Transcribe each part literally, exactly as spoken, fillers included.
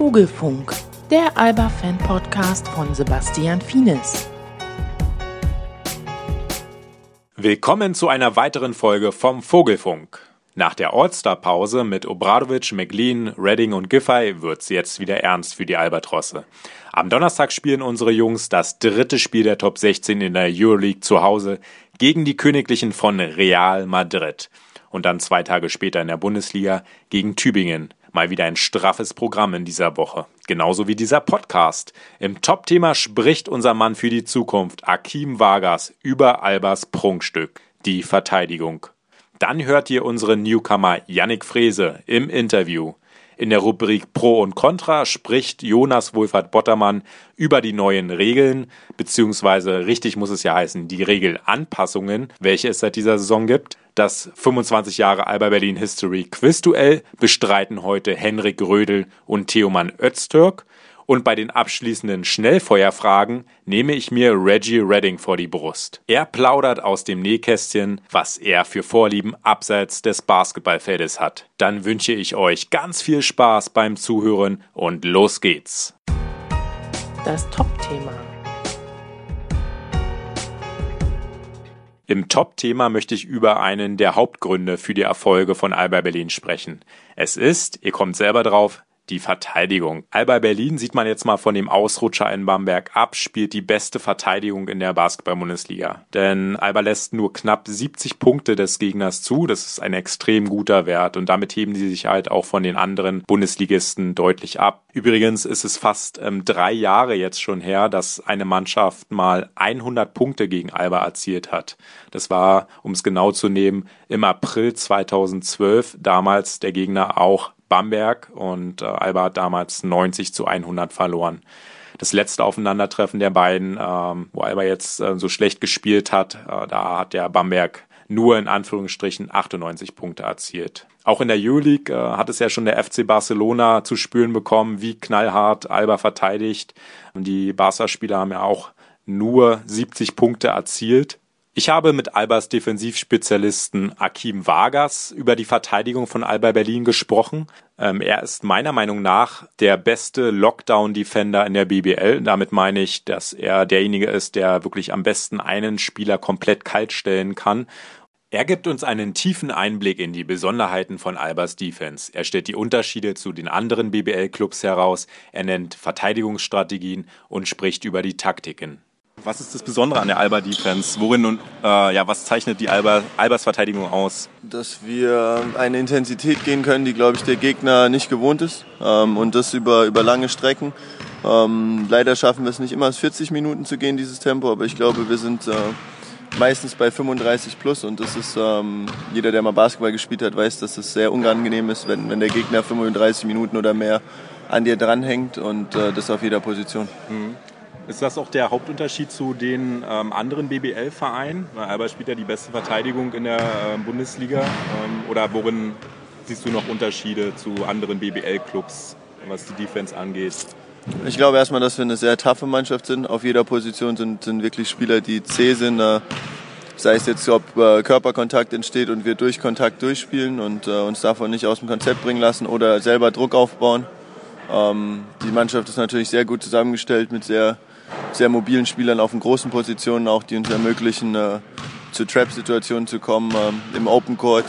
Vogelfunk, der Alba-Fan-Podcast von Sebastian Fienes. Willkommen zu einer weiteren Folge vom Vogelfunk. Nach der All-Star-Pause mit Obradovic, McLean, Redding und Giffey wird's jetzt wieder ernst für die Albatrosse. Am Donnerstag spielen unsere Jungs das dritte Spiel der Top sechzehn in der Euroleague zu Hause gegen die Königlichen von Real Madrid. Und dann zwei Tage später in der Bundesliga gegen Tübingen. Mal wieder ein straffes Programm in dieser Woche. Genauso wie dieser Podcast. Im Top-Thema spricht unser Mann für die Zukunft, Akeem Vargas, über Albas Prunkstück, die Verteidigung. Dann hört ihr unseren Newcomer Yannick Frese im Interview. In der Rubrik Pro und Contra spricht Jonas Wohlfahrt-Bottermann über die neuen Regeln, beziehungsweise richtig muss es ja heißen, die Regelanpassungen, welche es seit dieser Saison gibt. Das fünfundzwanzig Jahre Alba Berlin History Quizduell bestreiten heute Henrik Rödel und Theoman Öztürk. Und bei den abschließenden Schnellfeuerfragen nehme ich mir Reggie Redding vor die Brust. Er plaudert aus dem Nähkästchen, was er für Vorlieben abseits des Basketballfeldes hat. Dann wünsche ich euch ganz viel Spaß beim Zuhören und los geht's. Das Top-Thema. Im Top-Thema möchte ich über einen der Hauptgründe für die Erfolge von Alba Berlin sprechen. Es ist, ihr kommt selber drauf, die Verteidigung. Alba Berlin, sieht man jetzt mal von dem Ausrutscher in Bamberg ab, spielt die beste Verteidigung in der Basketball-Bundesliga. Denn Alba lässt nur knapp siebzig Punkte des Gegners zu. Das ist ein extrem guter Wert und damit heben sie sich halt auch von den anderen Bundesligisten deutlich ab. Übrigens ist es fast ähm, drei Jahre jetzt schon her, dass eine Mannschaft mal hundert Punkte gegen Alba erzielt hat. Das war, um es genau zu nehmen, im April zweitausendzwölf, damals der Gegner auch Bamberg, und äh, Alba hat damals neunzig zu hundert verloren. Das letzte Aufeinandertreffen der beiden, ähm, wo Alba jetzt äh, so schlecht gespielt hat, äh, da hat der Bamberg nur in Anführungsstrichen achtundneunzig Punkte erzielt. Auch in der Euroleague äh, hat es ja schon der F C Barcelona zu spüren bekommen, wie knallhart Alba verteidigt. Und die Barca-Spieler haben ja auch nur siebzig Punkte erzielt. Ich habe mit Albas Defensivspezialisten Akeem Vargas über die Verteidigung von Alba Berlin gesprochen. Ähm, er ist meiner Meinung nach der beste Lockdown-Defender in der B B L. Damit meine ich, dass er derjenige ist, der wirklich am besten einen Spieler komplett kalt stellen kann. Er gibt uns einen tiefen Einblick in die Besonderheiten von Albas Defense. Er stellt die Unterschiede zu den anderen B B L-Clubs heraus, er nennt Verteidigungsstrategien und spricht über die Taktiken. Was ist das Besondere an der Alba-Defense? Worin und äh, ja, was zeichnet die Alba, Albas Verteidigung aus? Dass wir eine Intensität gehen können, die, glaube ich, der Gegner nicht gewohnt ist. Ähm, und das über, über lange Strecken. Ähm, leider schaffen wir es nicht immer, vierzig Minuten zu gehen, dieses Tempo. Aber ich glaube, wir sind äh, meistens bei fünfunddreißig plus. Und das ist, ähm, jeder, der mal Basketball gespielt hat, weiß, dass es sehr unangenehm ist, wenn, wenn der Gegner fünfunddreißig Minuten oder mehr an dir dranhängt. Und äh, das auf jeder Position. Mhm. Ist das auch der Hauptunterschied zu den ähm, anderen B B L-Vereinen? Weil Alba spielt ja die beste Verteidigung in der äh, Bundesliga. Ähm, oder worin siehst du noch Unterschiede zu anderen B B L-Clubs, was die Defense angeht? Ich glaube erstmal, dass wir eine sehr taffe Mannschaft sind. Auf jeder Position sind, sind wirklich Spieler, die zäh sind. Äh, sei es jetzt, ob äh, Körperkontakt entsteht und wir durch Kontakt durchspielen und äh, uns davon nicht aus dem Konzept bringen lassen oder selber Druck aufbauen. Ähm, die Mannschaft ist natürlich sehr gut zusammengestellt mit sehr sehr mobilen Spielern auf den großen Positionen, auch die uns ermöglichen, äh, zu Trap-Situationen zu kommen, äh, im Open Court.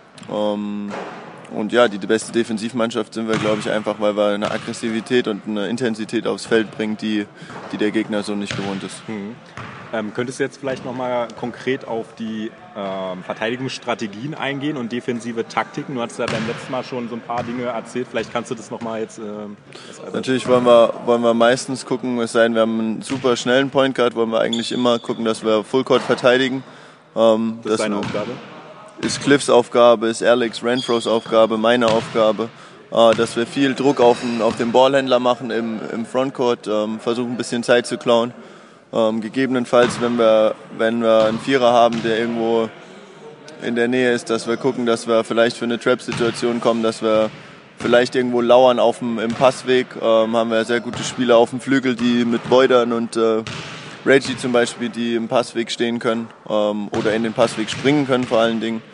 Ähm, und ja, die, die beste Defensivmannschaft sind wir, glaube ich, einfach, weil wir eine Aggressivität und eine Intensität aufs Feld bringen, die, die der Gegner so nicht gewohnt ist. Mhm. Ähm, könntest du jetzt vielleicht nochmal konkret auf die ähm, Verteidigungsstrategien eingehen und defensive Taktiken? Du hast ja beim letzten Mal schon so ein paar Dinge erzählt. Vielleicht kannst du das nochmal jetzt... Ähm, Natürlich wollen wir, wollen wir meistens gucken, es sei denn, wir haben einen super schnellen Point Guard, wollen wir eigentlich immer gucken, dass wir Full Court verteidigen. Ähm, das ist deine Aufgabe? Ist Cliffs Aufgabe, ist Alex Renfros Aufgabe, meine Aufgabe. Äh, dass wir viel Druck auf den, auf den Ballhändler machen im, im Frontcourt, ähm, versuchen ein bisschen Zeit zu klauen. Ähm, gegebenenfalls, wenn wir, wenn wir einen Vierer haben, der irgendwo in der Nähe ist, dass wir gucken, dass wir vielleicht für eine Trap-Situation kommen, dass wir vielleicht irgendwo lauern auf dem, im Passweg. Ähm, haben wir sehr gute Spieler auf dem Flügel, die mit Beudern und äh, Reggie zum Beispiel, die im Passweg stehen können ähm, oder in den Passweg springen können vor allen Dingen.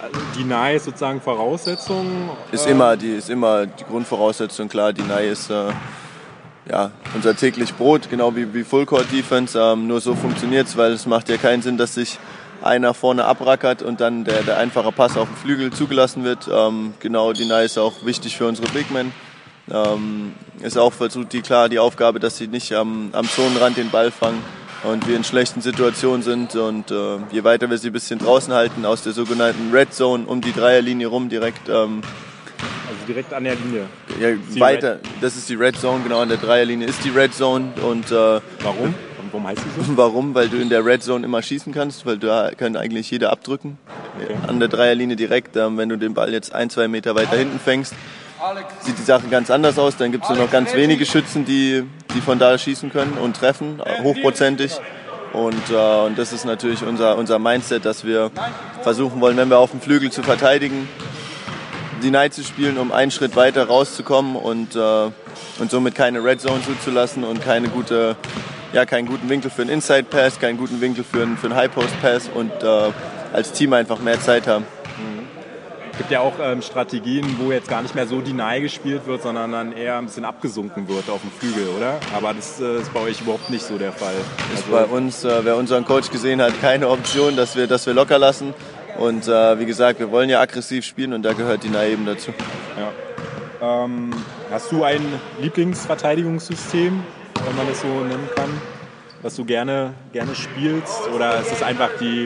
die Deny ist sozusagen Voraussetzung? Ist immer die, ist immer die Grundvoraussetzung, klar. Deny ist äh, ja, unser täglich Brot, genau wie, wie Full-Court-Defense. Ähm, nur so funktioniert es, weil es macht ja keinen Sinn, dass sich einer vorne abrackert und dann der, der einfache Pass auf den Flügel zugelassen wird. Ähm, genau, Deny ist auch wichtig für unsere Big Men. Ähm, ist auch versucht die klar die Aufgabe, dass sie nicht am, am Zonenrand den Ball fangen und wir in schlechten Situationen sind und äh, je weiter wir sie ein bisschen draußen halten aus der sogenannten Red Zone um die Dreierlinie rum direkt ähm, also direkt an der Linie. Ja, weiter. Das ist die Red Zone, genau an der Dreierlinie ist die Red Zone und äh, warum? Und warum heißt die so? Warum? Weil du in der Red Zone immer schießen kannst, weil da kann eigentlich jeder abdrücken. Okay. An der Dreierlinie direkt, ähm, wenn du den Ball jetzt ein, zwei Meter weiter hinten fängst, sieht die Sache ganz anders aus. Dann gibt es nur noch ganz wenige Schützen, die, die von da schießen können und treffen, hochprozentig. Und, äh, und das ist natürlich unser, unser Mindset, dass wir versuchen wollen, wenn wir auf dem Flügel zu verteidigen, Deny zu spielen, um einen Schritt weiter rauszukommen und, äh, und somit keine Red Zone zuzulassen und keine gute, ja, keinen guten Winkel für einen Inside Pass, keinen guten Winkel für einen, für einen High Post Pass und äh, als Team einfach mehr Zeit haben. Es gibt ja auch ähm, Strategien, wo jetzt gar nicht mehr so Deny gespielt wird, sondern dann eher ein bisschen abgesunken wird auf dem Flügel, oder? Aber das äh, ist bei euch überhaupt nicht so der Fall. Ist also bei uns, äh, wer unseren Coach gesehen hat, keine Option, dass wir, dass wir locker lassen. Und äh, wie gesagt, wir wollen ja aggressiv spielen und da gehört Deny eben dazu. Ja. Ähm, hast du ein Lieblingsverteidigungssystem, wenn man das so nennen kann, was du gerne, gerne spielst? Oder ist es einfach die...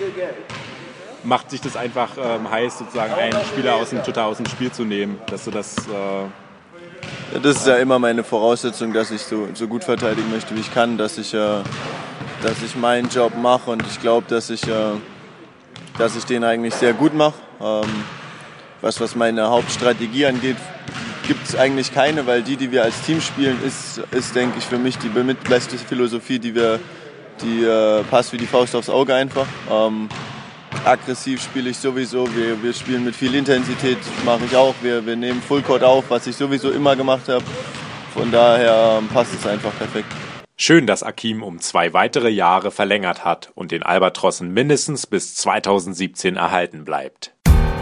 Macht sich das einfach ähm, heiß, sozusagen einen Spieler aus dem, total aus dem Spiel zu nehmen, dass du das... Äh, ja, das ist ja immer meine Voraussetzung, dass ich so, so gut verteidigen möchte, wie ich kann, dass ich, äh, dass ich meinen Job mache und ich glaube, dass ich, äh, dass ich den eigentlich sehr gut mache. Ähm, was, was meine Hauptstrategie angeht, gibt es eigentlich keine, weil die, die wir als Team spielen, ist, ist denke ich, für mich die beste Philosophie, die wir, die äh, passt wie die Faust aufs Auge einfach. Ähm, Aggressiv spiele ich sowieso, wir, wir spielen mit viel Intensität, mache ich auch. Wir, wir nehmen Fullcourt auf, was ich sowieso immer gemacht habe. Von daher ähm, passt es einfach perfekt. Schön, dass Akim um zwei weitere Jahre verlängert hat und den Albatrossen mindestens bis zweitausendsiebzehn erhalten bleibt.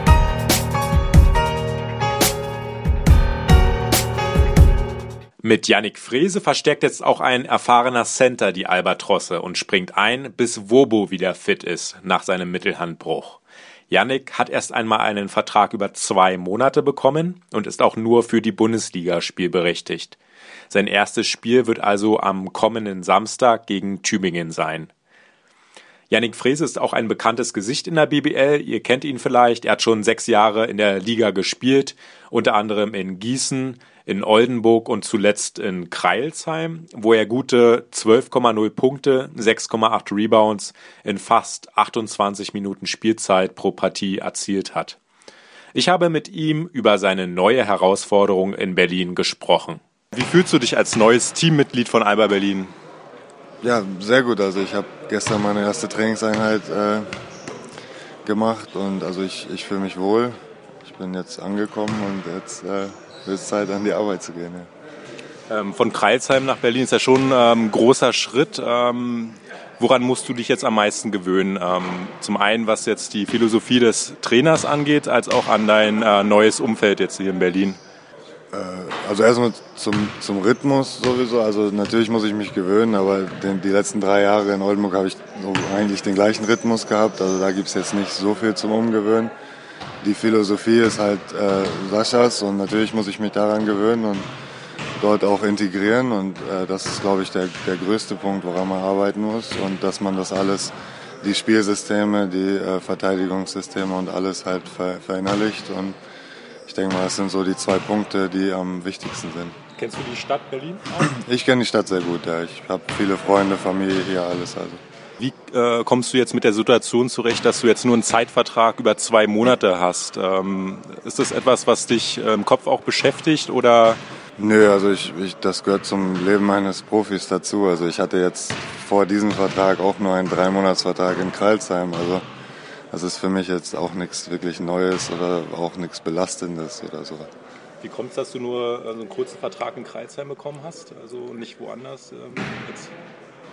Mit Yannick Frese verstärkt jetzt auch ein erfahrener Center die Albatrosse und springt ein, bis Wobo wieder fit ist nach seinem Mittelhandbruch. Yannick hat erst einmal einen Vertrag über zwei Monate bekommen und ist auch nur für die Bundesliga spielberechtigt. Sein erstes Spiel wird also am kommenden Samstag gegen Tübingen sein. Yannick Frese ist auch ein bekanntes Gesicht in der B B L. Ihr kennt ihn vielleicht. Er hat schon sechs Jahre in der Liga gespielt, unter anderem in Gießen, in Oldenburg und zuletzt in Crailsheim, wo er gute zwölf Komma null Punkte, sechs Komma acht Rebounds in fast achtundzwanzig Minuten Spielzeit pro Partie erzielt hat. Ich habe mit ihm über seine neue Herausforderung in Berlin gesprochen. Wie fühlst du dich als neues Teammitglied von Alba Berlin? Ja, sehr gut. Also ich habe gestern meine erste Trainingseinheit äh, gemacht und also ich, ich fühle mich wohl. Ich bin jetzt angekommen und jetzt äh, wird es Zeit, an die Arbeit zu gehen. Ja. Ähm, von Crailsheim nach Berlin ist ja schon ähm, ein großer Schritt. Ähm, woran musst du dich jetzt am meisten gewöhnen? Ähm, zum einen, was jetzt die Philosophie des Trainers angeht, als auch an dein äh, neues Umfeld jetzt hier in Berlin. Also erstmal zum, zum Rhythmus sowieso, also natürlich muss ich mich gewöhnen, aber den, die letzten drei Jahre in Oldenburg habe ich so eigentlich den gleichen Rhythmus gehabt, also da gibt es jetzt nicht so viel zum Umgewöhnen. Die Philosophie ist halt äh, Saschas und natürlich muss ich mich daran gewöhnen und dort auch integrieren und äh, das ist, glaube ich, der, der größte Punkt, woran man arbeiten muss und dass man das alles, die Spielsysteme, die äh, Verteidigungssysteme und alles halt ver, verinnerlicht und ich denke mal, das sind so die zwei Punkte, die am wichtigsten sind. Kennst du die Stadt Berlin? Ich kenne die Stadt sehr gut, ja. Ich habe viele Freunde, Familie hier, alles. Also. Wie äh, kommst du jetzt mit der Situation zurecht, dass du jetzt nur einen Zeitvertrag über zwei Monate hast? Ähm, ist das etwas, was dich äh, im Kopf auch beschäftigt oder? Nö, also ich, ich, das gehört zum Leben eines Profis dazu. Also ich hatte jetzt vor diesem Vertrag auch nur einen Dreimonatsvertrag in Crailsheim. Also das ist für mich jetzt auch nichts wirklich Neues oder auch nichts Belastendes oder so. Wie kommt es, dass du nur so einen kurzen Vertrag in Crailsheim bekommen hast, also nicht woanders ähm, jetzt?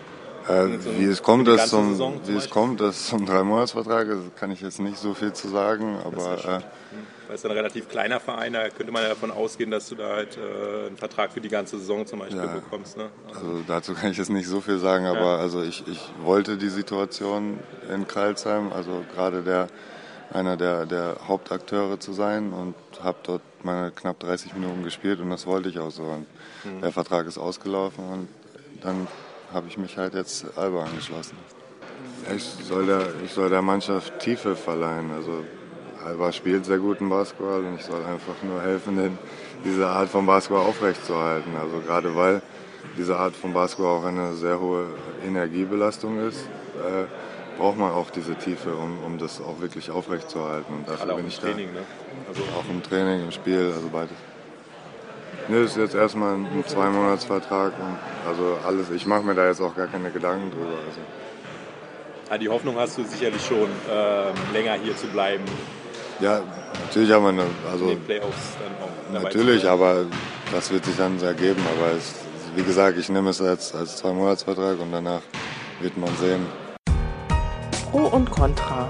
Äh, wie es kommt, dass zum, Saison wie es kommt, dass zum Drei-Monats-Vertrag ist, kann ich jetzt nicht so viel zu sagen, aber äh, das ist ein relativ kleiner Verein, da könnte man ja davon ausgehen, dass du da halt äh, einen Vertrag für die ganze Saison zum Beispiel ja, bekommst. Ne? Also dazu kann ich jetzt nicht so viel sagen, aber ja. also ich, ich wollte die Situation in Crailsheim, also gerade der einer der, der Hauptakteure zu sein und habe dort meine knapp dreißig Minuten gespielt und das wollte ich auch so. Und mhm. der Vertrag ist ausgelaufen und dann habe ich mich halt jetzt Alba angeschlossen. Ich soll, der, ich soll der Mannschaft Tiefe verleihen. Also Alba spielt sehr guten Basketball und ich soll einfach nur helfen, den, diese Art von Basketball aufrechtzuerhalten. Also gerade weil diese Art von Basketball auch eine sehr hohe Energiebelastung ist, äh, braucht man auch diese Tiefe, um, um das auch wirklich aufrechtzuerhalten. Und dafür bin ich da. Training, ne? Also auch im Training, im Spiel, also beides. Ne, das ist jetzt erstmal ein, ein Zwei-Monats-Vertrag und also alles. Ich mache mir da jetzt auch gar keine Gedanken drüber. Also. Ja, die Hoffnung hast du sicherlich schon, ähm, länger hier zu bleiben. Ja, natürlich haben wir eine, also in den Playoffs dann auch dabei natürlich, zu aber das wird sich dann ergeben. Aber es, wie gesagt, ich nehme es als, als Zwei-Monats-Vertrag und danach wird man sehen. Pro und Contra.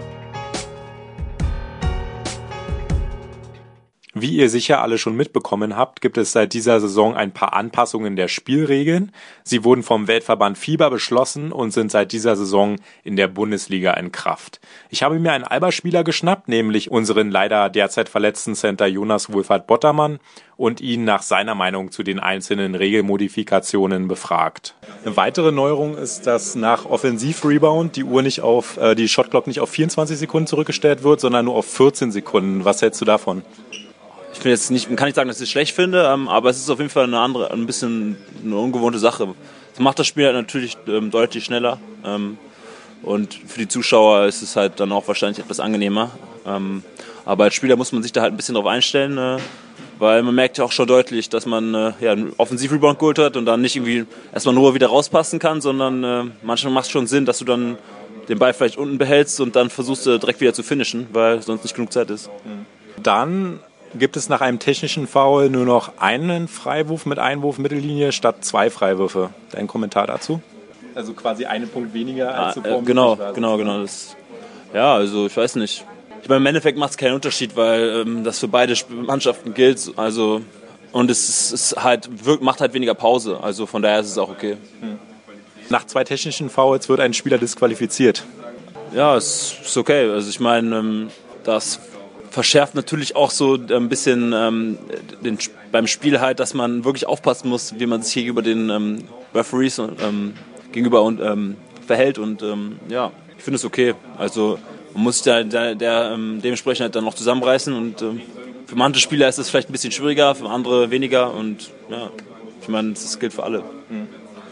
Wie ihr sicher alle schon mitbekommen habt, gibt es seit dieser Saison ein paar Anpassungen der Spielregeln. Sie wurden vom Weltverband FIBA beschlossen und sind seit dieser Saison in der Bundesliga in Kraft. Ich habe mir einen Alba-Spieler geschnappt, nämlich unseren leider derzeit verletzten Center Jonas Wohlfahrt-Bottermann und ihn nach seiner Meinung zu den einzelnen Regelmodifikationen befragt. Eine weitere Neuerung ist, dass nach Offensiv-Rebound die Uhr nicht auf, äh, die Shotclock nicht auf vierundzwanzig Sekunden zurückgestellt wird, sondern nur auf vierzehn Sekunden. Was hältst du davon? Ich finde jetzt nicht, kann nicht sagen, dass ich es schlecht finde, ähm, aber es ist auf jeden Fall eine andere, ein bisschen eine ungewohnte Sache. Das macht das Spiel halt natürlich ähm, deutlich schneller ähm, und für die Zuschauer ist es halt dann auch wahrscheinlich etwas angenehmer. Ähm, aber als Spieler muss man sich da halt ein bisschen drauf einstellen, äh, weil man merkt ja auch schon deutlich, dass man äh, ja, einen Offensiv-Rebound geholt hat und dann nicht irgendwie erstmal nur wieder rauspassen kann, sondern äh, manchmal macht es schon Sinn, dass du dann den Ball vielleicht unten behältst und dann versuchst du direkt wieder zu finishen, weil sonst nicht genug Zeit ist. Dann gibt es nach einem technischen Foul nur noch einen Freiwurf mit Einwurf Mittellinie statt zwei Freiwürfe. Dein Kommentar dazu? Also quasi einen Punkt weniger als ah, äh, Genau, genau, genau. Das, ja, also ich weiß nicht. Ich meine, im Endeffekt macht es keinen Unterschied, weil ähm, das für beide Mannschaften gilt. Also, und es ist, ist halt, wirkt, macht halt weniger Pause. Also von daher ist es auch okay. Hm. Nach zwei technischen Fouls wird ein Spieler disqualifiziert. Ja, es ist okay. Also ich meine, ähm, das verschärft natürlich auch so ein bisschen ähm, den, beim Spiel halt, dass man wirklich aufpassen muss, wie man sich gegenüber den ähm, Referees ähm, gegenüber und, ähm, verhält und ähm, ja, ich finde es okay. Also man muss sich da, da der, ähm, dementsprechend halt dann noch zusammenreißen und ähm, für manche Spieler ist es vielleicht ein bisschen schwieriger, für andere weniger und ja, ich meine, das gilt für alle. Mhm.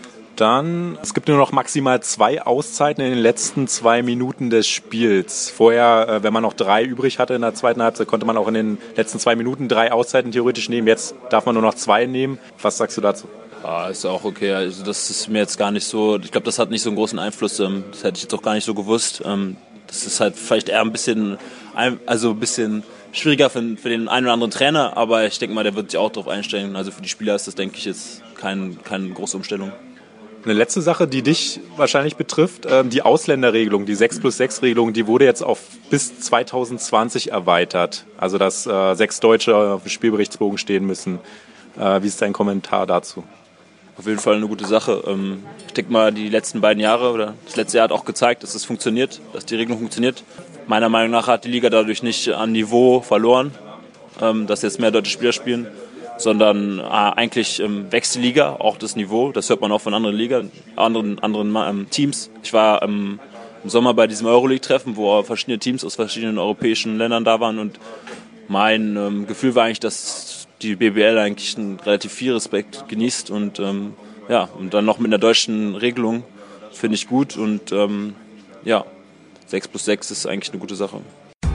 Dann, es gibt nur noch maximal zwei Auszeiten in den letzten zwei Minuten des Spiels. Vorher, wenn man noch drei übrig hatte in der zweiten Halbzeit, konnte man auch in den letzten zwei Minuten drei Auszeiten theoretisch nehmen. Jetzt darf man nur noch zwei nehmen. Was sagst du dazu? Ja, ist auch okay. Also das ist mir jetzt gar nicht so, ich glaube, das hat nicht so einen großen Einfluss. Das hätte ich jetzt auch gar nicht so gewusst. Das ist halt vielleicht eher ein bisschen, also ein bisschen schwieriger für, für den einen oder anderen Trainer, aber ich denke mal, der wird sich auch darauf einstellen. Also für die Spieler ist das, denke ich, jetzt kein, keine große Umstellung. Eine letzte Sache, die dich wahrscheinlich betrifft, die Ausländerregelung, die sechs plus sechs Regelung, die wurde jetzt auf bis zwanzig zwanzig erweitert. Also dass äh, sechs Deutsche auf dem Spielberichtsbogen stehen müssen. Äh, wie ist dein Kommentar dazu? Auf jeden Fall eine gute Sache. Ich denke mal, die letzten beiden Jahre oder das letzte Jahr hat auch gezeigt, dass es funktioniert, dass die Regelung funktioniert. Meiner Meinung nach hat die Liga dadurch nicht an Niveau verloren, dass jetzt mehr deutsche Spieler spielen, sondern äh, eigentlich ähm, wächst die Liga, auch das Niveau. Das hört man auch von anderen Liga, anderen, anderen ähm, Teams. Ich war ähm, im Sommer bei diesem Euroleague-Treffen, wo verschiedene Teams aus verschiedenen europäischen Ländern da waren und mein ähm, Gefühl war eigentlich, dass die B B L eigentlich einen relativ viel Respekt genießt und ähm, ja, und dann noch mit einer deutschen Regelung finde ich gut und ähm, ja, sechs plus sechs ist eigentlich eine gute Sache.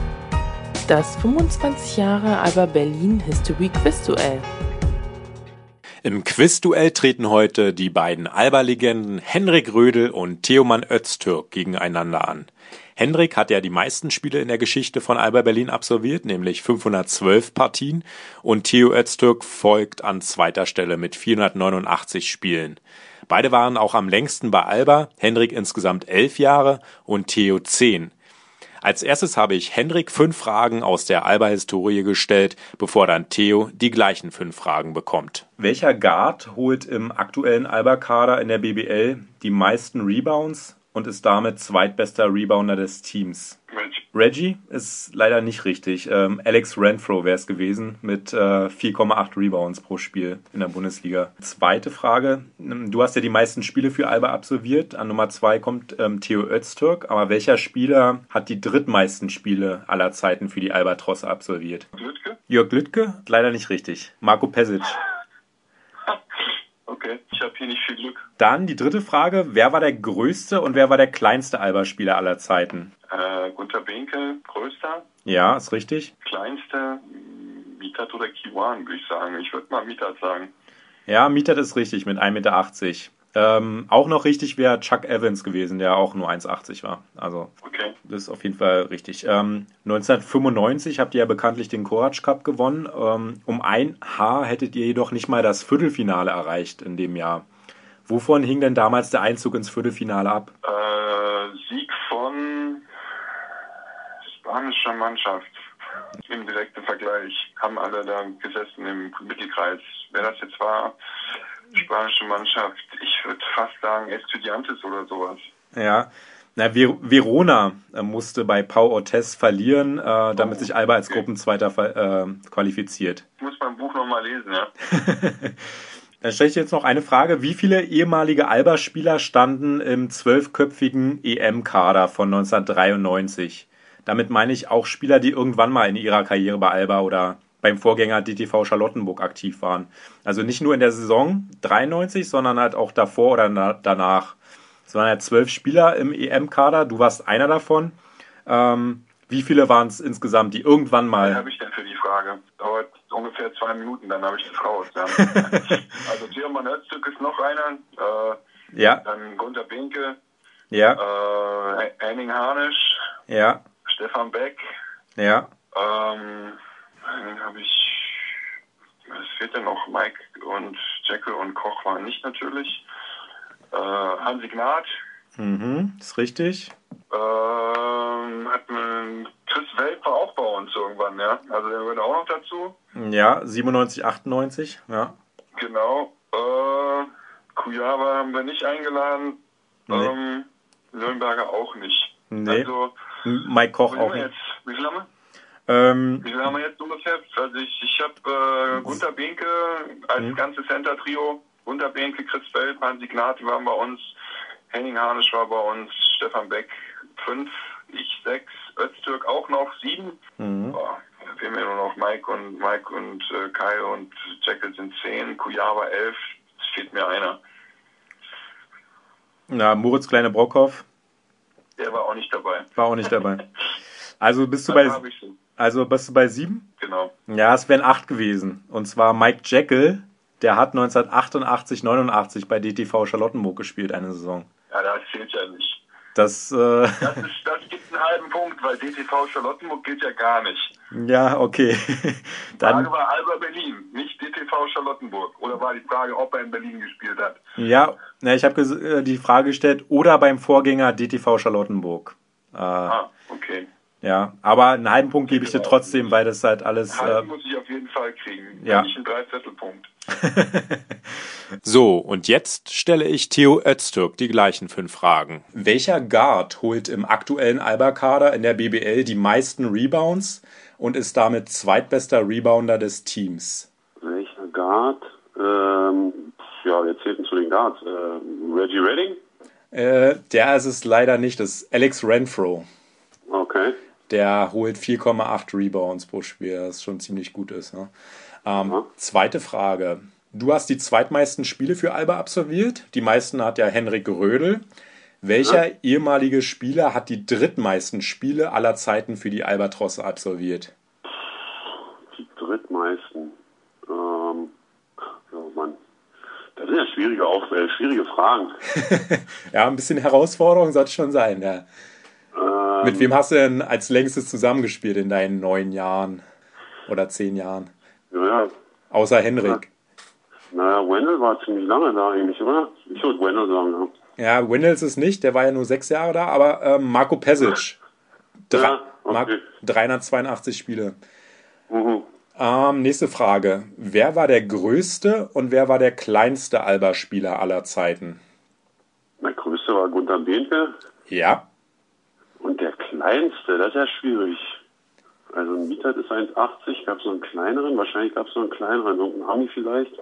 Das fünfundzwanzig Jahre Alba Berlin History Quizduell. Im Quizduell treten heute die beiden Alba-Legenden Henrik Rödel und Teoman Öztürk gegeneinander an. Hendrik hat ja die meisten Spiele in der Geschichte von Alba Berlin absolviert, nämlich fünfhundertzwölf Partien, und Theo Öztürk folgt an zweiter Stelle mit vierhundertneunundachtzig Spielen. Beide waren auch am längsten bei Alba, Hendrik insgesamt elf Jahre und Theo zehn. Als erstes habe ich Hendrik fünf Fragen aus der Alba-Historie gestellt, bevor dann Theo die gleichen fünf Fragen bekommt. Welcher Guard holt im aktuellen Alba-Kader in der B B L die meisten Rebounds und ist damit zweitbester Rebounder des Teams? Reggie. Reggie ist leider nicht richtig. Ähm, Alex Renfro wäre es gewesen mit äh, vier Komma acht Rebounds pro Spiel in der Bundesliga. Zweite Frage. Du hast ja die meisten Spiele für Alba absolviert. An Nummer zwei kommt ähm, Theo Öztürk. Aber welcher Spieler hat die drittmeisten Spiele aller Zeiten für die Albatrosse absolviert? Lütke? Jörg Lütke? Leider nicht richtig. Marco Pesic. Okay, ich habe hier nicht viel Glück. Dann die dritte Frage. Wer war der größte und wer war der kleinste Alba-Spieler aller Zeiten? Äh, Gunter Behnke, größter. Ja, ist richtig. Kleinste, Mithat oder Kiwan, würde ich sagen. Ich würde mal Mithat sagen. Ja, Mithat ist richtig mit ein Meter achtzig. Ähm, auch noch richtig wäre Chuck Evans gewesen, der auch nur eins Komma achtzig war. Also, okay. Das ist auf jeden Fall richtig. Ähm, neunzehnhundertfünfundneunzig habt ihr ja bekanntlich den Courage Cup gewonnen. Ähm, um ein Haar hättet ihr jedoch nicht mal das Viertelfinale erreicht in dem Jahr. Wovon hing denn damals der Einzug ins Viertelfinale ab? Äh, Sieg von spanischer Mannschaft. Im direkten Vergleich haben alle da gesessen im Mittelkreis. Wer das jetzt war, spanische Mannschaft, ich würde fast sagen Estudiantes oder sowas. Ja, na, Ver- Verona äh, musste bei Pau Ortiz verlieren, äh, damit oh, sich Alba als okay. Gruppenzweiter äh, qualifiziert. Ich muss mein Buch nochmal lesen, ja. Dann stelle ich jetzt noch eine Frage. Wie viele ehemalige Alba-Spieler standen im zwölfköpfigen E M-Kader von neunzehnhundertdreiundneunzig? Damit meine ich auch Spieler, die irgendwann mal in ihrer Karriere bei Alba oder beim Vorgänger D T V Charlottenburg aktiv waren. Also nicht nur in der Saison dreiundneunzig, sondern halt auch davor oder na- danach. Es waren ja zwölf Spieler im E M-Kader, du warst einer davon. Ähm, wie viele waren es insgesamt, die irgendwann mal... Was habe ich denn für die Frage? Dauert ungefähr zwei Minuten, dann habe ich das raus. Ja. Also Theoman Öztürk ist noch einer, äh, ja. Dann Gunter Behnke, ja. äh, Henning Harnisch, ja. Stefan Beck, ja. ähm, dann habe ich, es fehlt ja noch, Mike und Jekyll und Koch waren nicht natürlich. Äh, Hansi Gnad. Mhm, ist richtig. Ähm, hat man, Chris Welp war auch bei uns irgendwann, ja. Also der gehört auch noch dazu. Ja, siebenundneunzig, achtundneunzig, ja. Genau. Äh, Kujava haben wir nicht eingeladen. Nee. Ähm, Nürnberger auch nicht. Nee. Also, Mike Koch auch nicht. Jetzt? Wie viel haben wir? Ähm, Wie viel haben wir jetzt ungefähr? Also ich, ich habe äh, Gunter Behnke als mhm. ganzes Center-Trio. Gunter Behnke, Chris Welp, Hansi Gnad, die waren bei uns. Henning Harnisch war bei uns. Stefan Beck fünf, ich sechs. Öztürk auch noch sieben. Mhm. Boah, da fehlen mir nur noch Mike und Mike und äh, Kai und Jekyll sind zehn. Kujava elf. Es fehlt mir einer. Na, Moritz Kleine-Brockhoff. Der war auch nicht dabei. War auch nicht dabei. Also bist du bei also bist du bei sieben? Genau. Ja, es wären acht gewesen. Und zwar Mike Jekyll, der hat neunzehnhundertachtundachtzig, neunundachtzig bei D T V Charlottenburg gespielt, eine Saison. Ja, das zählt ja nicht. Das, äh das, ist, das gibt einen halben Punkt, weil D T V Charlottenburg gilt ja gar nicht. Ja, okay. Die Dann, Frage war Alba Berlin, nicht D T V Charlottenburg. Oder war die Frage, ob er in Berlin gespielt hat? Ja, na, ich habe ges- die Frage gestellt, oder beim Vorgänger D T V Charlottenburg. Äh, ah, okay. Ja, aber einen halben Punkt gebe ich dir trotzdem, weil das halt alles... Halben äh, muss ich auf jeden Fall kriegen. Ja. Nicht einen Dreiviertelpunkt. So, und jetzt stelle ich Theo Öztürk die gleichen fünf Fragen. Welcher Guard holt im aktuellen Alba-Kader in der B B L die meisten Rebounds und ist damit zweitbester Rebounder des Teams? Welcher Guard? Ähm, ja, wer zählt denn zu den Guards? Äh, Reggie Redding? Äh, der ist es leider nicht, das ist Alex Renfro. Okay. Der holt vier Komma acht Rebounds pro Spiel, das schon ziemlich gut ist. Ne? Ähm, ja. Zweite Frage. Du hast die zweitmeisten Spiele für Alba absolviert. Die meisten hat ja Henrik Rödel. Welcher ja. ehemalige Spieler hat die drittmeisten Spiele aller Zeiten für die Albatrosse absolviert? Die drittmeisten? Ähm, oh Mann. Das sind ja schwierige, auch, äh, schwierige Fragen. Ja, ein bisschen Herausforderung sollte schon sein, ja. Äh, Ähm, Mit wem hast du denn als längstes zusammengespielt in deinen neun Jahren oder zehn Jahren? Ja, Außer Henrik. naja, Wendell war ziemlich lange da eigentlich, oder? Ich würde Wendell sagen, ja. Ja, Wendell ist es nicht, der war ja nur sechs Jahre da, aber ähm, Marco Pesic. Drei, Ja, okay. Mar- dreihundertzweiundachtzig Spiele. Mhm. Ähm, nächste Frage. Wer war der größte und wer war der kleinste Alba-Spieler aller Zeiten? Der größte war Gunter Behnke Ja. und der kleinste, das ist ja schwierig. Also ein Mietert ist eins achtzig, gab es noch einen kleineren, wahrscheinlich gab es noch einen kleineren, irgendeinen Ami vielleicht.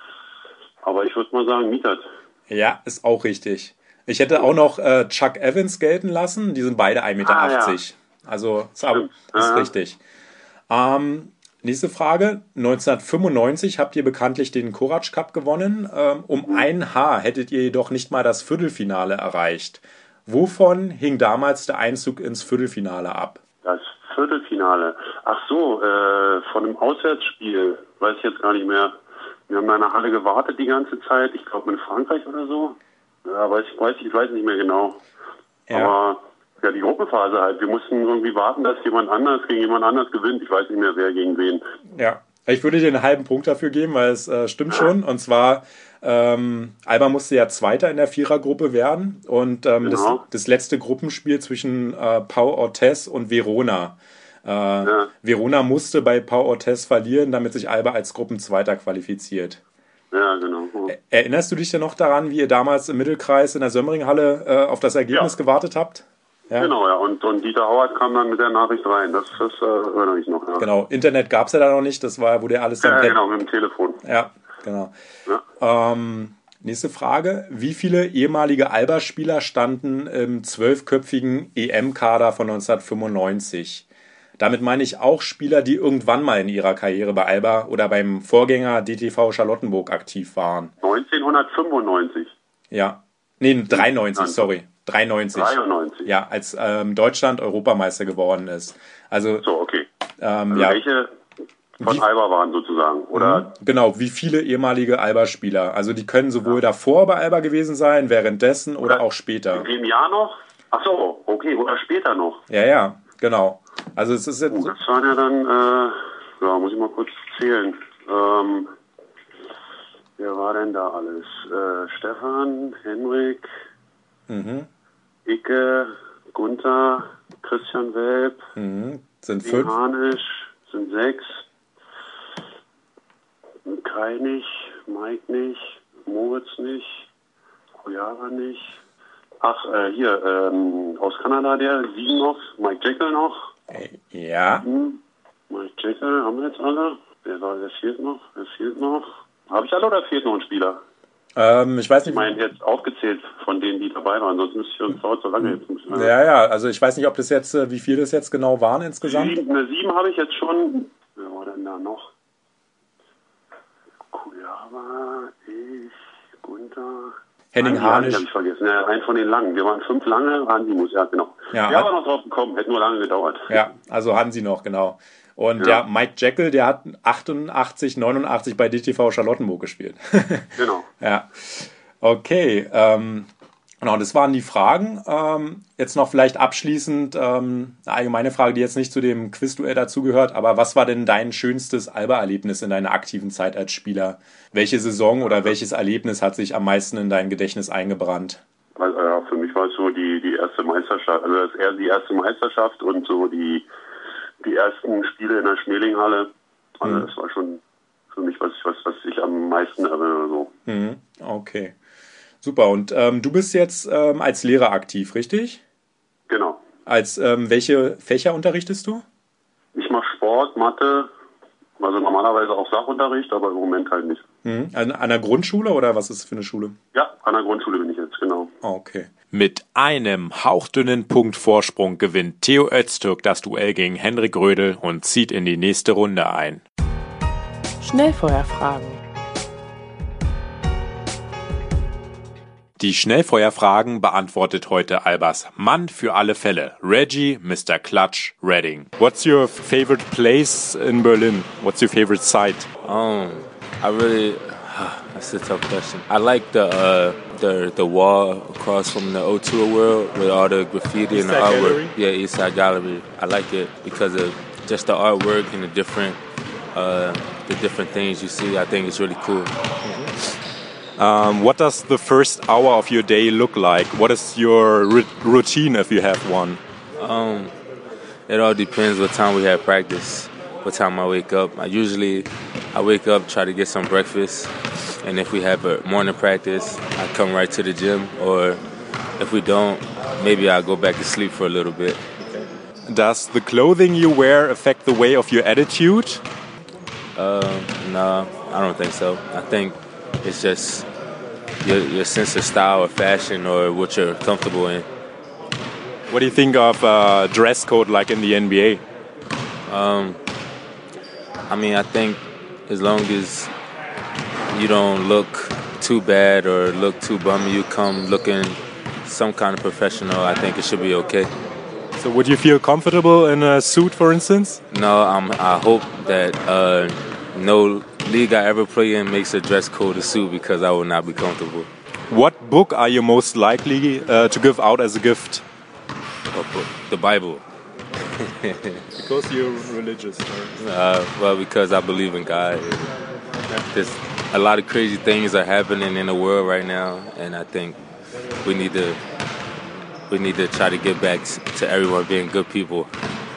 Aber ich würde mal sagen Mietert. Ja, ist auch richtig. Ich hätte auch noch äh, Chuck Evans gelten lassen. Die sind beide ein Meter achtzig. Ah, ja. Also ist, aber, Stimmt. ist Ja. richtig. Ähm, nächste Frage. neunzehnhundertfünfundneunzig habt ihr bekanntlich den Korac Cup gewonnen. Ähm, um ein Haar hättet ihr jedoch nicht mal das Viertelfinale erreicht. Wovon hing damals der Einzug ins Viertelfinale ab? Das Viertelfinale. Ach so, äh, von einem Auswärtsspiel, weiß ich jetzt gar nicht mehr. Wir haben da in der Halle gewartet die ganze Zeit, ich glaube in Frankreich oder so. Ja, weiß ich, weiß ich, weiß nicht mehr genau. Ja. Aber ja, die Gruppenphase halt. Wir mussten irgendwie warten, dass jemand anders gegen jemand anders gewinnt. Ich weiß nicht mehr, wer gegen wen. Ja, ich würde dir einen halben Punkt dafür geben, weil es äh, stimmt schon. Und zwar, ähm, Alba musste ja Zweiter in der Vierergruppe werden. Und ähm, Genau. das, das letzte Gruppenspiel zwischen äh, Pau Ortiz und Verona. Äh, Ja. Verona musste bei Pau Ortiz verlieren, damit sich Alba als Gruppenzweiter qualifiziert. Ja, genau. Erinnerst du dich denn noch daran, wie ihr damals im Mittelkreis in der Sömmringhalle äh, auf das Ergebnis Ja. gewartet habt? Ja. Genau, ja. Und, und Dieter Hauert kam dann mit der Nachricht rein. Das, das äh, erinnere ich noch, ja. Genau, Internet gab es ja da noch nicht, das war, wurde ja alles dann Ja, per- genau, mit dem Telefon. Ja, genau. Ja. Ähm, nächste Frage. Wie viele ehemalige Alba-Spieler standen im zwölfköpfigen E M-Kader von neunzehnhundertfünfundneunzig? Damit meine ich auch Spieler, die irgendwann mal in ihrer Karriere bei Alba oder beim Vorgänger D T V Charlottenburg aktiv waren. neunzehnhundertfünfundneunzig. Ja. Nee, dreiundneunzig, Nein. sorry. dreiundneunzig. dreiundneunzig. Ja, als ähm, Deutschland Europameister geworden ist. Also, So, okay. ähm, Also ja. welche von Wie- Alba waren sozusagen? Oder? Genau, wie viele ehemalige Alba-Spieler. Also die können sowohl davor bei Alba gewesen sein, währenddessen oder, Oder auch später. In dem Jahr noch? Ach so, okay, oder später noch. Ja, ja, genau. Also es ist jetzt Oh, so, das waren ja dann, äh, ja, muss ich mal kurz zählen. Ähm, wer war denn da alles? Äh, Stefan, Henrik, mhm, Icke, Gunther, Christian Welp, mhm, sind Ding fünf. Harnisch, sind sechs. Kai nicht, Mike nicht, Moritz nicht, Kujara nicht. Ach, äh, hier, ähm, aus Kanada der, sieben noch, Mike Jekyll noch. Ja, Hm, Mike Jekyll haben wir jetzt alle. Wer war, wer fehlt noch? Wer fehlt noch? Habe ich alle oder fehlt noch ein Spieler? ähm, ich weiß Ich nicht. meine jetzt aufgezählt von denen, die dabei waren, sonst müsste ich uns dauert so lange jetzt. Nicht, Ja, ja, also ich weiß nicht, ob das jetzt, äh, wie viel das jetzt genau waren insgesamt. Sieben, eine sieben habe ich jetzt schon. Wer war denn da noch? Kujava, ich, Gunther. Henning Andi, Andi Harnisch. habe ich vergessen. Ja, einen von den langen. Wir waren fünf lange. Andi muss, ja, genau. Ja, Ja, hat- aber noch drauf gekommen. Hätte nur lange gedauert. Ja, also Hansi noch, genau. Und Ja. der Mike Jekyll, der hat achtundachtzig, neunundachtzig bei D T V Charlottenburg gespielt. Genau. Ja, okay. Ähm, genau, das waren die Fragen. Ähm, jetzt noch vielleicht abschließend ähm, eine allgemeine Frage, die jetzt nicht zu dem Quizduell dazugehört, aber was war denn dein schönstes Alba-Erlebnis in deiner aktiven Zeit als Spieler? Welche Saison oder welches Erlebnis hat sich am meisten in dein Gedächtnis eingebrannt? Also, ja, für mich war es so die, die erste Meisterschaft, also das eher die erste Meisterschaft und so die, die ersten Spiele in der Schmelinghalle. Also Mhm. das war schon für mich was, was, was ich am meisten erinnere. So. Mhm, okay. Super. Und ähm, du bist jetzt ähm, als Lehrer aktiv, richtig? Genau. Als ähm, welche Fächer unterrichtest du? Ich mache Sport, Mathe, also normalerweise auch Sachunterricht, aber im Moment halt nicht. Mhm. An, an der Grundschule oder was ist das für eine Schule? Ja, an der Grundschule bin ich jetzt, genau. Okay. Mit einem hauchdünnen Punkt Vorsprung gewinnt Theo Öztürk das Duell gegen Henrik Rödel und zieht in die nächste Runde ein. Schnellfeuerfragen. Die Schnellfeuerfragen beantwortet heute Albers Mann für alle Fälle, Reggie Mister Clutch Redding. What's your favorite place in Berlin? What's your favorite site? Um, I really That's a tough question. I like the uh, the the wall across from the O two World with all the graffiti and the artwork. Gallery? Yeah, Eastside Gallery. I like it because of just the artwork and the different uh, the different things you see. I think it's really cool. Mm-hmm. Um, what does the first hour of your day look like? What is your r- routine if you have one? Um, it all depends what time we have practice. What time I wake up. I usually I wake up, try to get some breakfast, and if we have a morning practice, I come right to the gym, or if we don't, maybe I'll go back to sleep for a little bit. Okay. Does the clothing you wear affect the way of your attitude? Uh, no, I don't think so. I think it's just your, your sense of style or fashion or what you're comfortable in. What do you think of uh, dress code like in the N B A? Um, I mean, I think as long as you don't look too bad or look too bummy, you come looking some kind of professional, I think it should be okay. So would you feel comfortable in a suit, for instance? No, I'm, I hope that uh, no league I ever play in makes a dress code a suit because I will not be comfortable. What book are you most likely uh, to give out as a gift? The Bible. Because you're religious? Or? Uh, well, because I believe in God. There's a lot of crazy things are happening in the world right now, and I think we need to we need to try to get back to everyone being good people.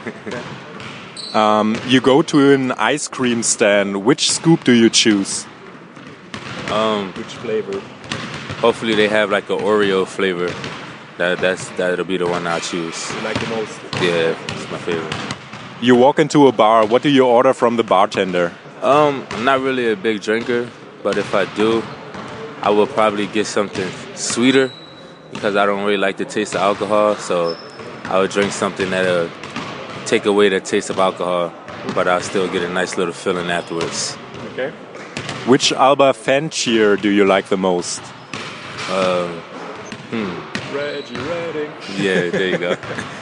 um, you go to an ice cream stand. Which scoop do you choose? Um, Which flavor? Hopefully, they have like an Oreo flavor. That that's that'll be the one I choose. You like the most? Yeah, it's my favorite. You walk into a bar. What do you order from the bartender? Um, I'm not really a big drinker, but if I do, I will probably get something sweeter because I don't really like the taste of alcohol. So I would drink something that'll take away the taste of alcohol, but I'll still get a nice little feeling afterwards. Okay. Which Alba fan cheer do you like the most? Uh, hmm. Reggie Redding. Yeah, there you go.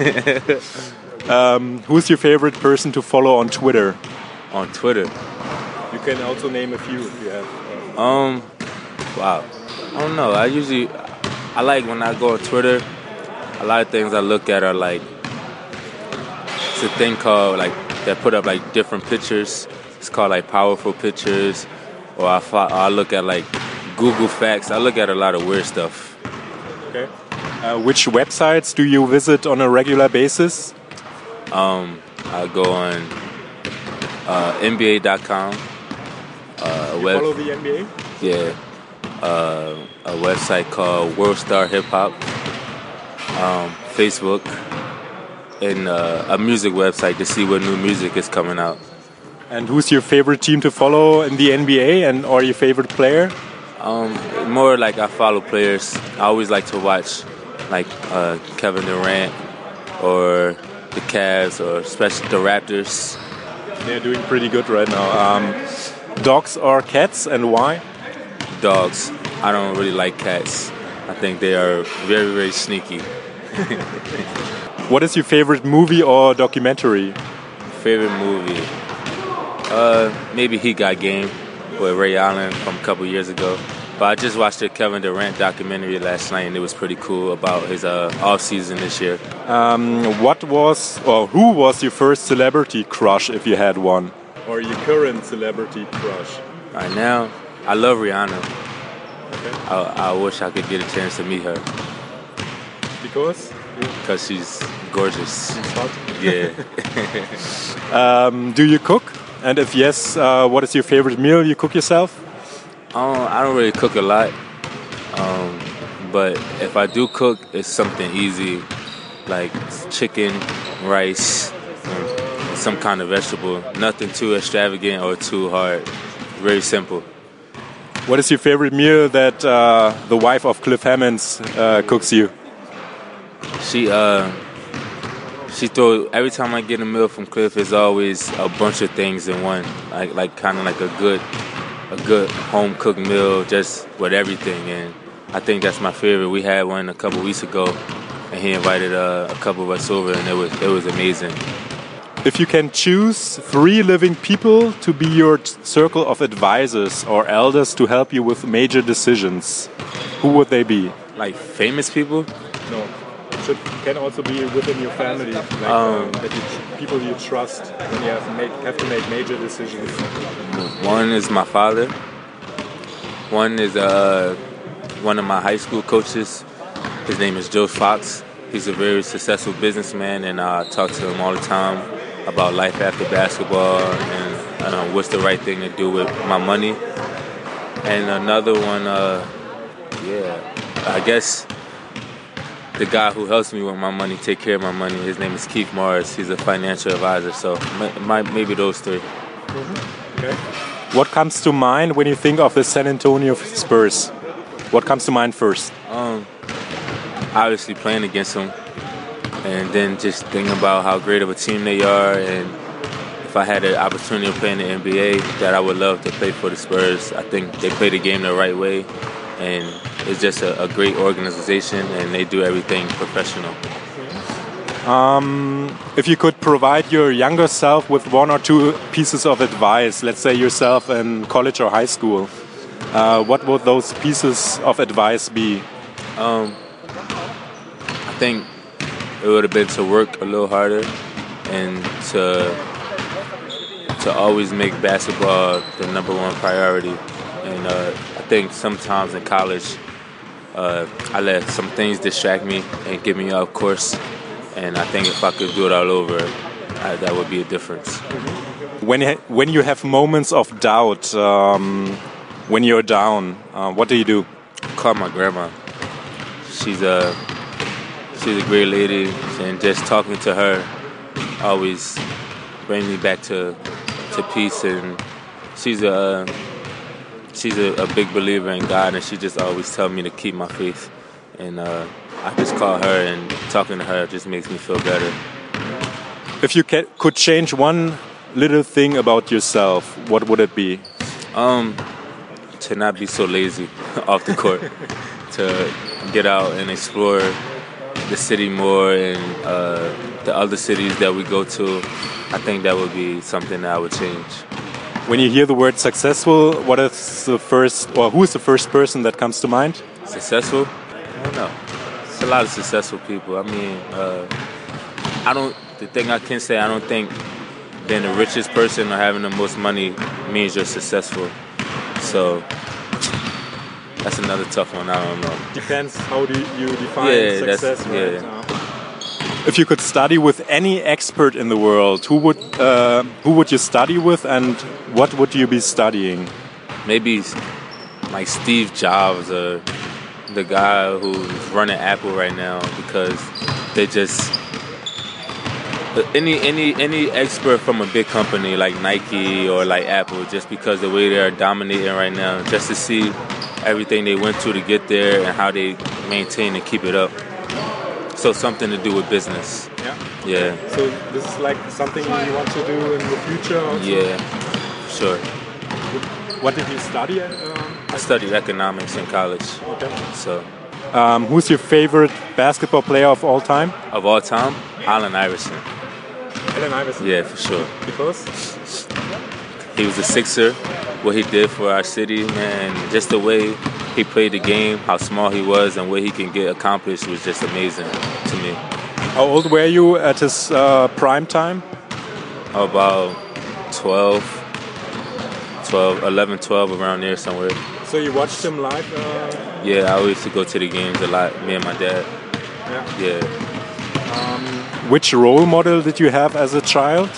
um, who's your favorite person to follow on Twitter? On Twitter? You can also name a few if you have. Um, um wow. I don't know. I usually, I like when I go on Twitter, a lot of things I look at are like, it's a thing called like, they put up like different pictures. It's called like powerful pictures. Or I, I look at like Google Facts. I look at a lot of weird stuff. Okay. Uh, which websites do you visit on a regular basis? Um, I go on uh, N B A dot com. Uh, you web- follow the N B A? Yeah. Uh, a website called World Star Hip Hop. Um, Facebook. And uh, a music website to see what new music is coming out. And who's your favorite team to follow in the N B A and or your favorite player? Um, more like I follow players. I always like to watch like uh, Kevin Durant or the Cavs or especially the Raptors. They're doing pretty good right now. Um, dogs or cats, and why? Dogs. I don't really like cats. I think they are very, very sneaky. What is your favorite movie or documentary? Favorite movie? Uh, maybe He Got Game with Ray Allen from a couple years ago. But I just watched the Kevin Durant documentary last night, and it was pretty cool about his uh, off season this year. Um, what was or who was your first celebrity crush, if you had one? Or your current celebrity crush? Right now, I love Rihanna. Okay. I, I wish I could get a chance to meet her. Because? Because she's gorgeous. She's hot? Yeah. um, do you cook? And if yes, uh, what is your favorite meal you cook yourself? Um, I don't really cook a lot, um, but if I do cook, it's something easy, like chicken, rice, and some kind of vegetable. Nothing too extravagant or too hard. Very simple. What is your favorite meal that uh, the wife of Cliff Hammonds uh, cooks you? She uh, she throw every time I get a meal from Cliff, it's always a bunch of things in one, like like kind of like a good. a good home cooked meal just with everything, and I think that's my favorite. We had one a couple weeks ago and he invited uh, a couple of us over and it was it was amazing. If you can choose three living people to be your t- circle of advisors or elders to help you with major decisions, who would they be? Like famous people? No. Should, can also be within your family, like Um, um, that you, people you trust when you have, make, have to make major decisions. One is my father. One is uh, one of my high school coaches. His name is Joe Fox. He's a very successful businessman, and I talk to him all the time about life after basketball and uh, what's the right thing to do with my money. And another one, uh, yeah, I guess the guy who helps me with my money, take care of my money, his name is Keith Morris. He's a financial advisor, so my, maybe those three. Mm-hmm. Okay. What comes to mind when you think of the San Antonio Spurs? What comes to mind first? Um, obviously playing against them, and then just thinking about how great of a team they are, and if I had the opportunity to play in the N B A, that I would love to play for the Spurs. I think they play the game the right way, and it's just a, a great organization, and they do everything professional. Um, if you could provide your younger self with one or two pieces of advice, let's say yourself in college or high school, uh, what would those pieces of advice be? Um, I think it would have been to work a little harder and to to always make basketball the number one priority. And uh, I think sometimes in college, uh, I let some things distract me and get me off course. And I think if I could do it all over, I, that would be a difference. When when you have moments of doubt, um, when you're down, uh, what do you do? Call my grandma. She's a she's a great lady, and just talking to her always brings me back to to peace. And she's a she's a, a big believer in God, and she just always tells me to keep my faith. And uh, I just call her, and talking to her just makes me feel better. If you ca- could change one little thing about yourself, what would it be? Um, to not be so lazy off the court, to get out and explore the city more and uh, the other cities that we go to. I think that would be something that I would change. When you hear the word successful, what is the first, or who is the first person that comes to mind? Successful? I don't know. It's a lot of successful people. I mean, uh, I don't. The thing I can say, I don't think being the richest person or having the most money means you're successful. So that's another tough one. I don't know. Depends how do you define yeah, success. That's, right? yeah. If you could study with any expert in the world, who would uh, who would you study with, and what would you be studying? Maybe like Steve Jobs or the guy who's running Apple right now, because they just any any any expert from a big company like Nike or like Apple, just because the way they're dominating right now, just to see everything they went through to get there and how they maintain and keep it up. So something to do with business. Yeah. Yeah. So this is like something you want to do in the future also? Yeah, sure. What did you study at? Um, I studied economics in college. Okay. So. Um, who's your favorite basketball player of all time? Of all time? Allen Iverson. Allen Iverson? Yeah, for sure. Because? He was a Sixer. What he did for our city, man, just the way he played the game, how small he was, and what he can get accomplished was just amazing to me. How old were you at his uh, prime time? About twelve, twelve, eleven, twelve, around there somewhere. So you watched him live? Uh... Yeah, I used to go to the games a lot, me and my dad. Yeah. Yeah. Um, which role model did you have as a child?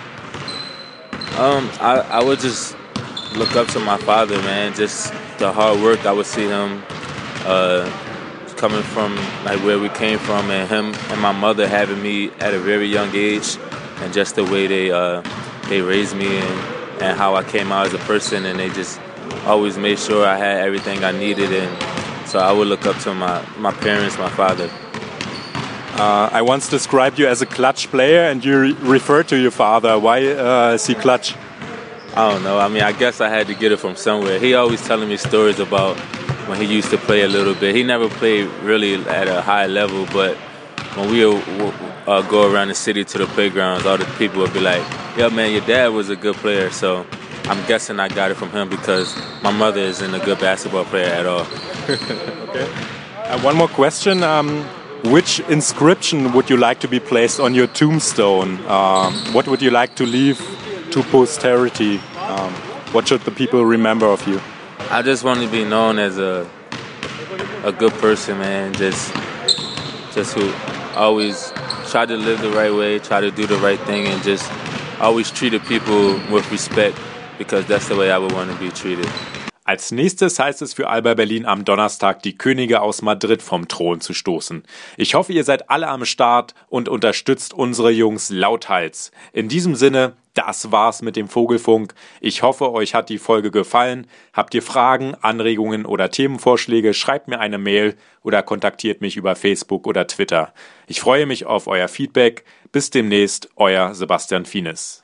Um, I, I would just look up to my father, man. Just the hard work. I would see him uh, coming from like where we came from, and him and my mother having me at a very young age, and just the way they uh, they raised me and, and how I came out as a person, and they just always made sure I had everything I needed, and so I would look up to my, my parents, my father. Uh, I once described you as a clutch player, and you re referred to your father. Why uh, is he clutch? I don't know. I mean, I guess I had to get it from somewhere. He always telling me stories about when he used to play a little bit. He never played really at a high level, but when we were uh, go around the city to the playgrounds, all the people would be like, "Yo, man, your dad was a good player." So I'm guessing I got it from him because my mother isn't a good basketball player at all. Okay. Uh, one more question. Um, which inscription would you like to be placed on your tombstone? Um, what would you like to leave to posterity? Um, what should the people remember of you? I just want to be known as a a good person, man. Just, just who always try to live the right way, try to do the right thing, and just always treated people with respect, because that's the way I would want to be treated. Als nächstes heißt es für Alba Berlin am Donnerstag, die Könige aus Madrid vom Thron zu stoßen. Ich hoffe, ihr seid alle am Start und unterstützt unsere Jungs lauthals. In diesem Sinne, das war's mit dem Vogelfunk. Ich hoffe, euch hat die Folge gefallen. Habt ihr Fragen, Anregungen oder Themenvorschläge, schreibt mir eine Mail oder kontaktiert mich über Facebook oder Twitter. Ich freue mich auf euer Feedback. Bis demnächst, euer Sebastian Fienes.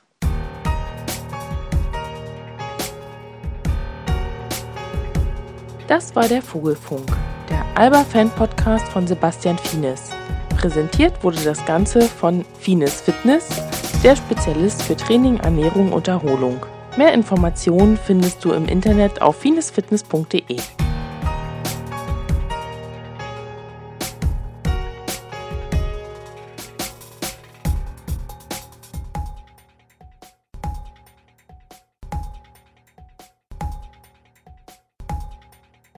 Das war der Vogelfunk, der Alba-Fan-Podcast von Sebastian Fienes. Präsentiert wurde das Ganze von Fienes Fitness, der Spezialist für Training, Ernährung und Erholung. Mehr Informationen findest du im Internet auf fienesfitness punkt de.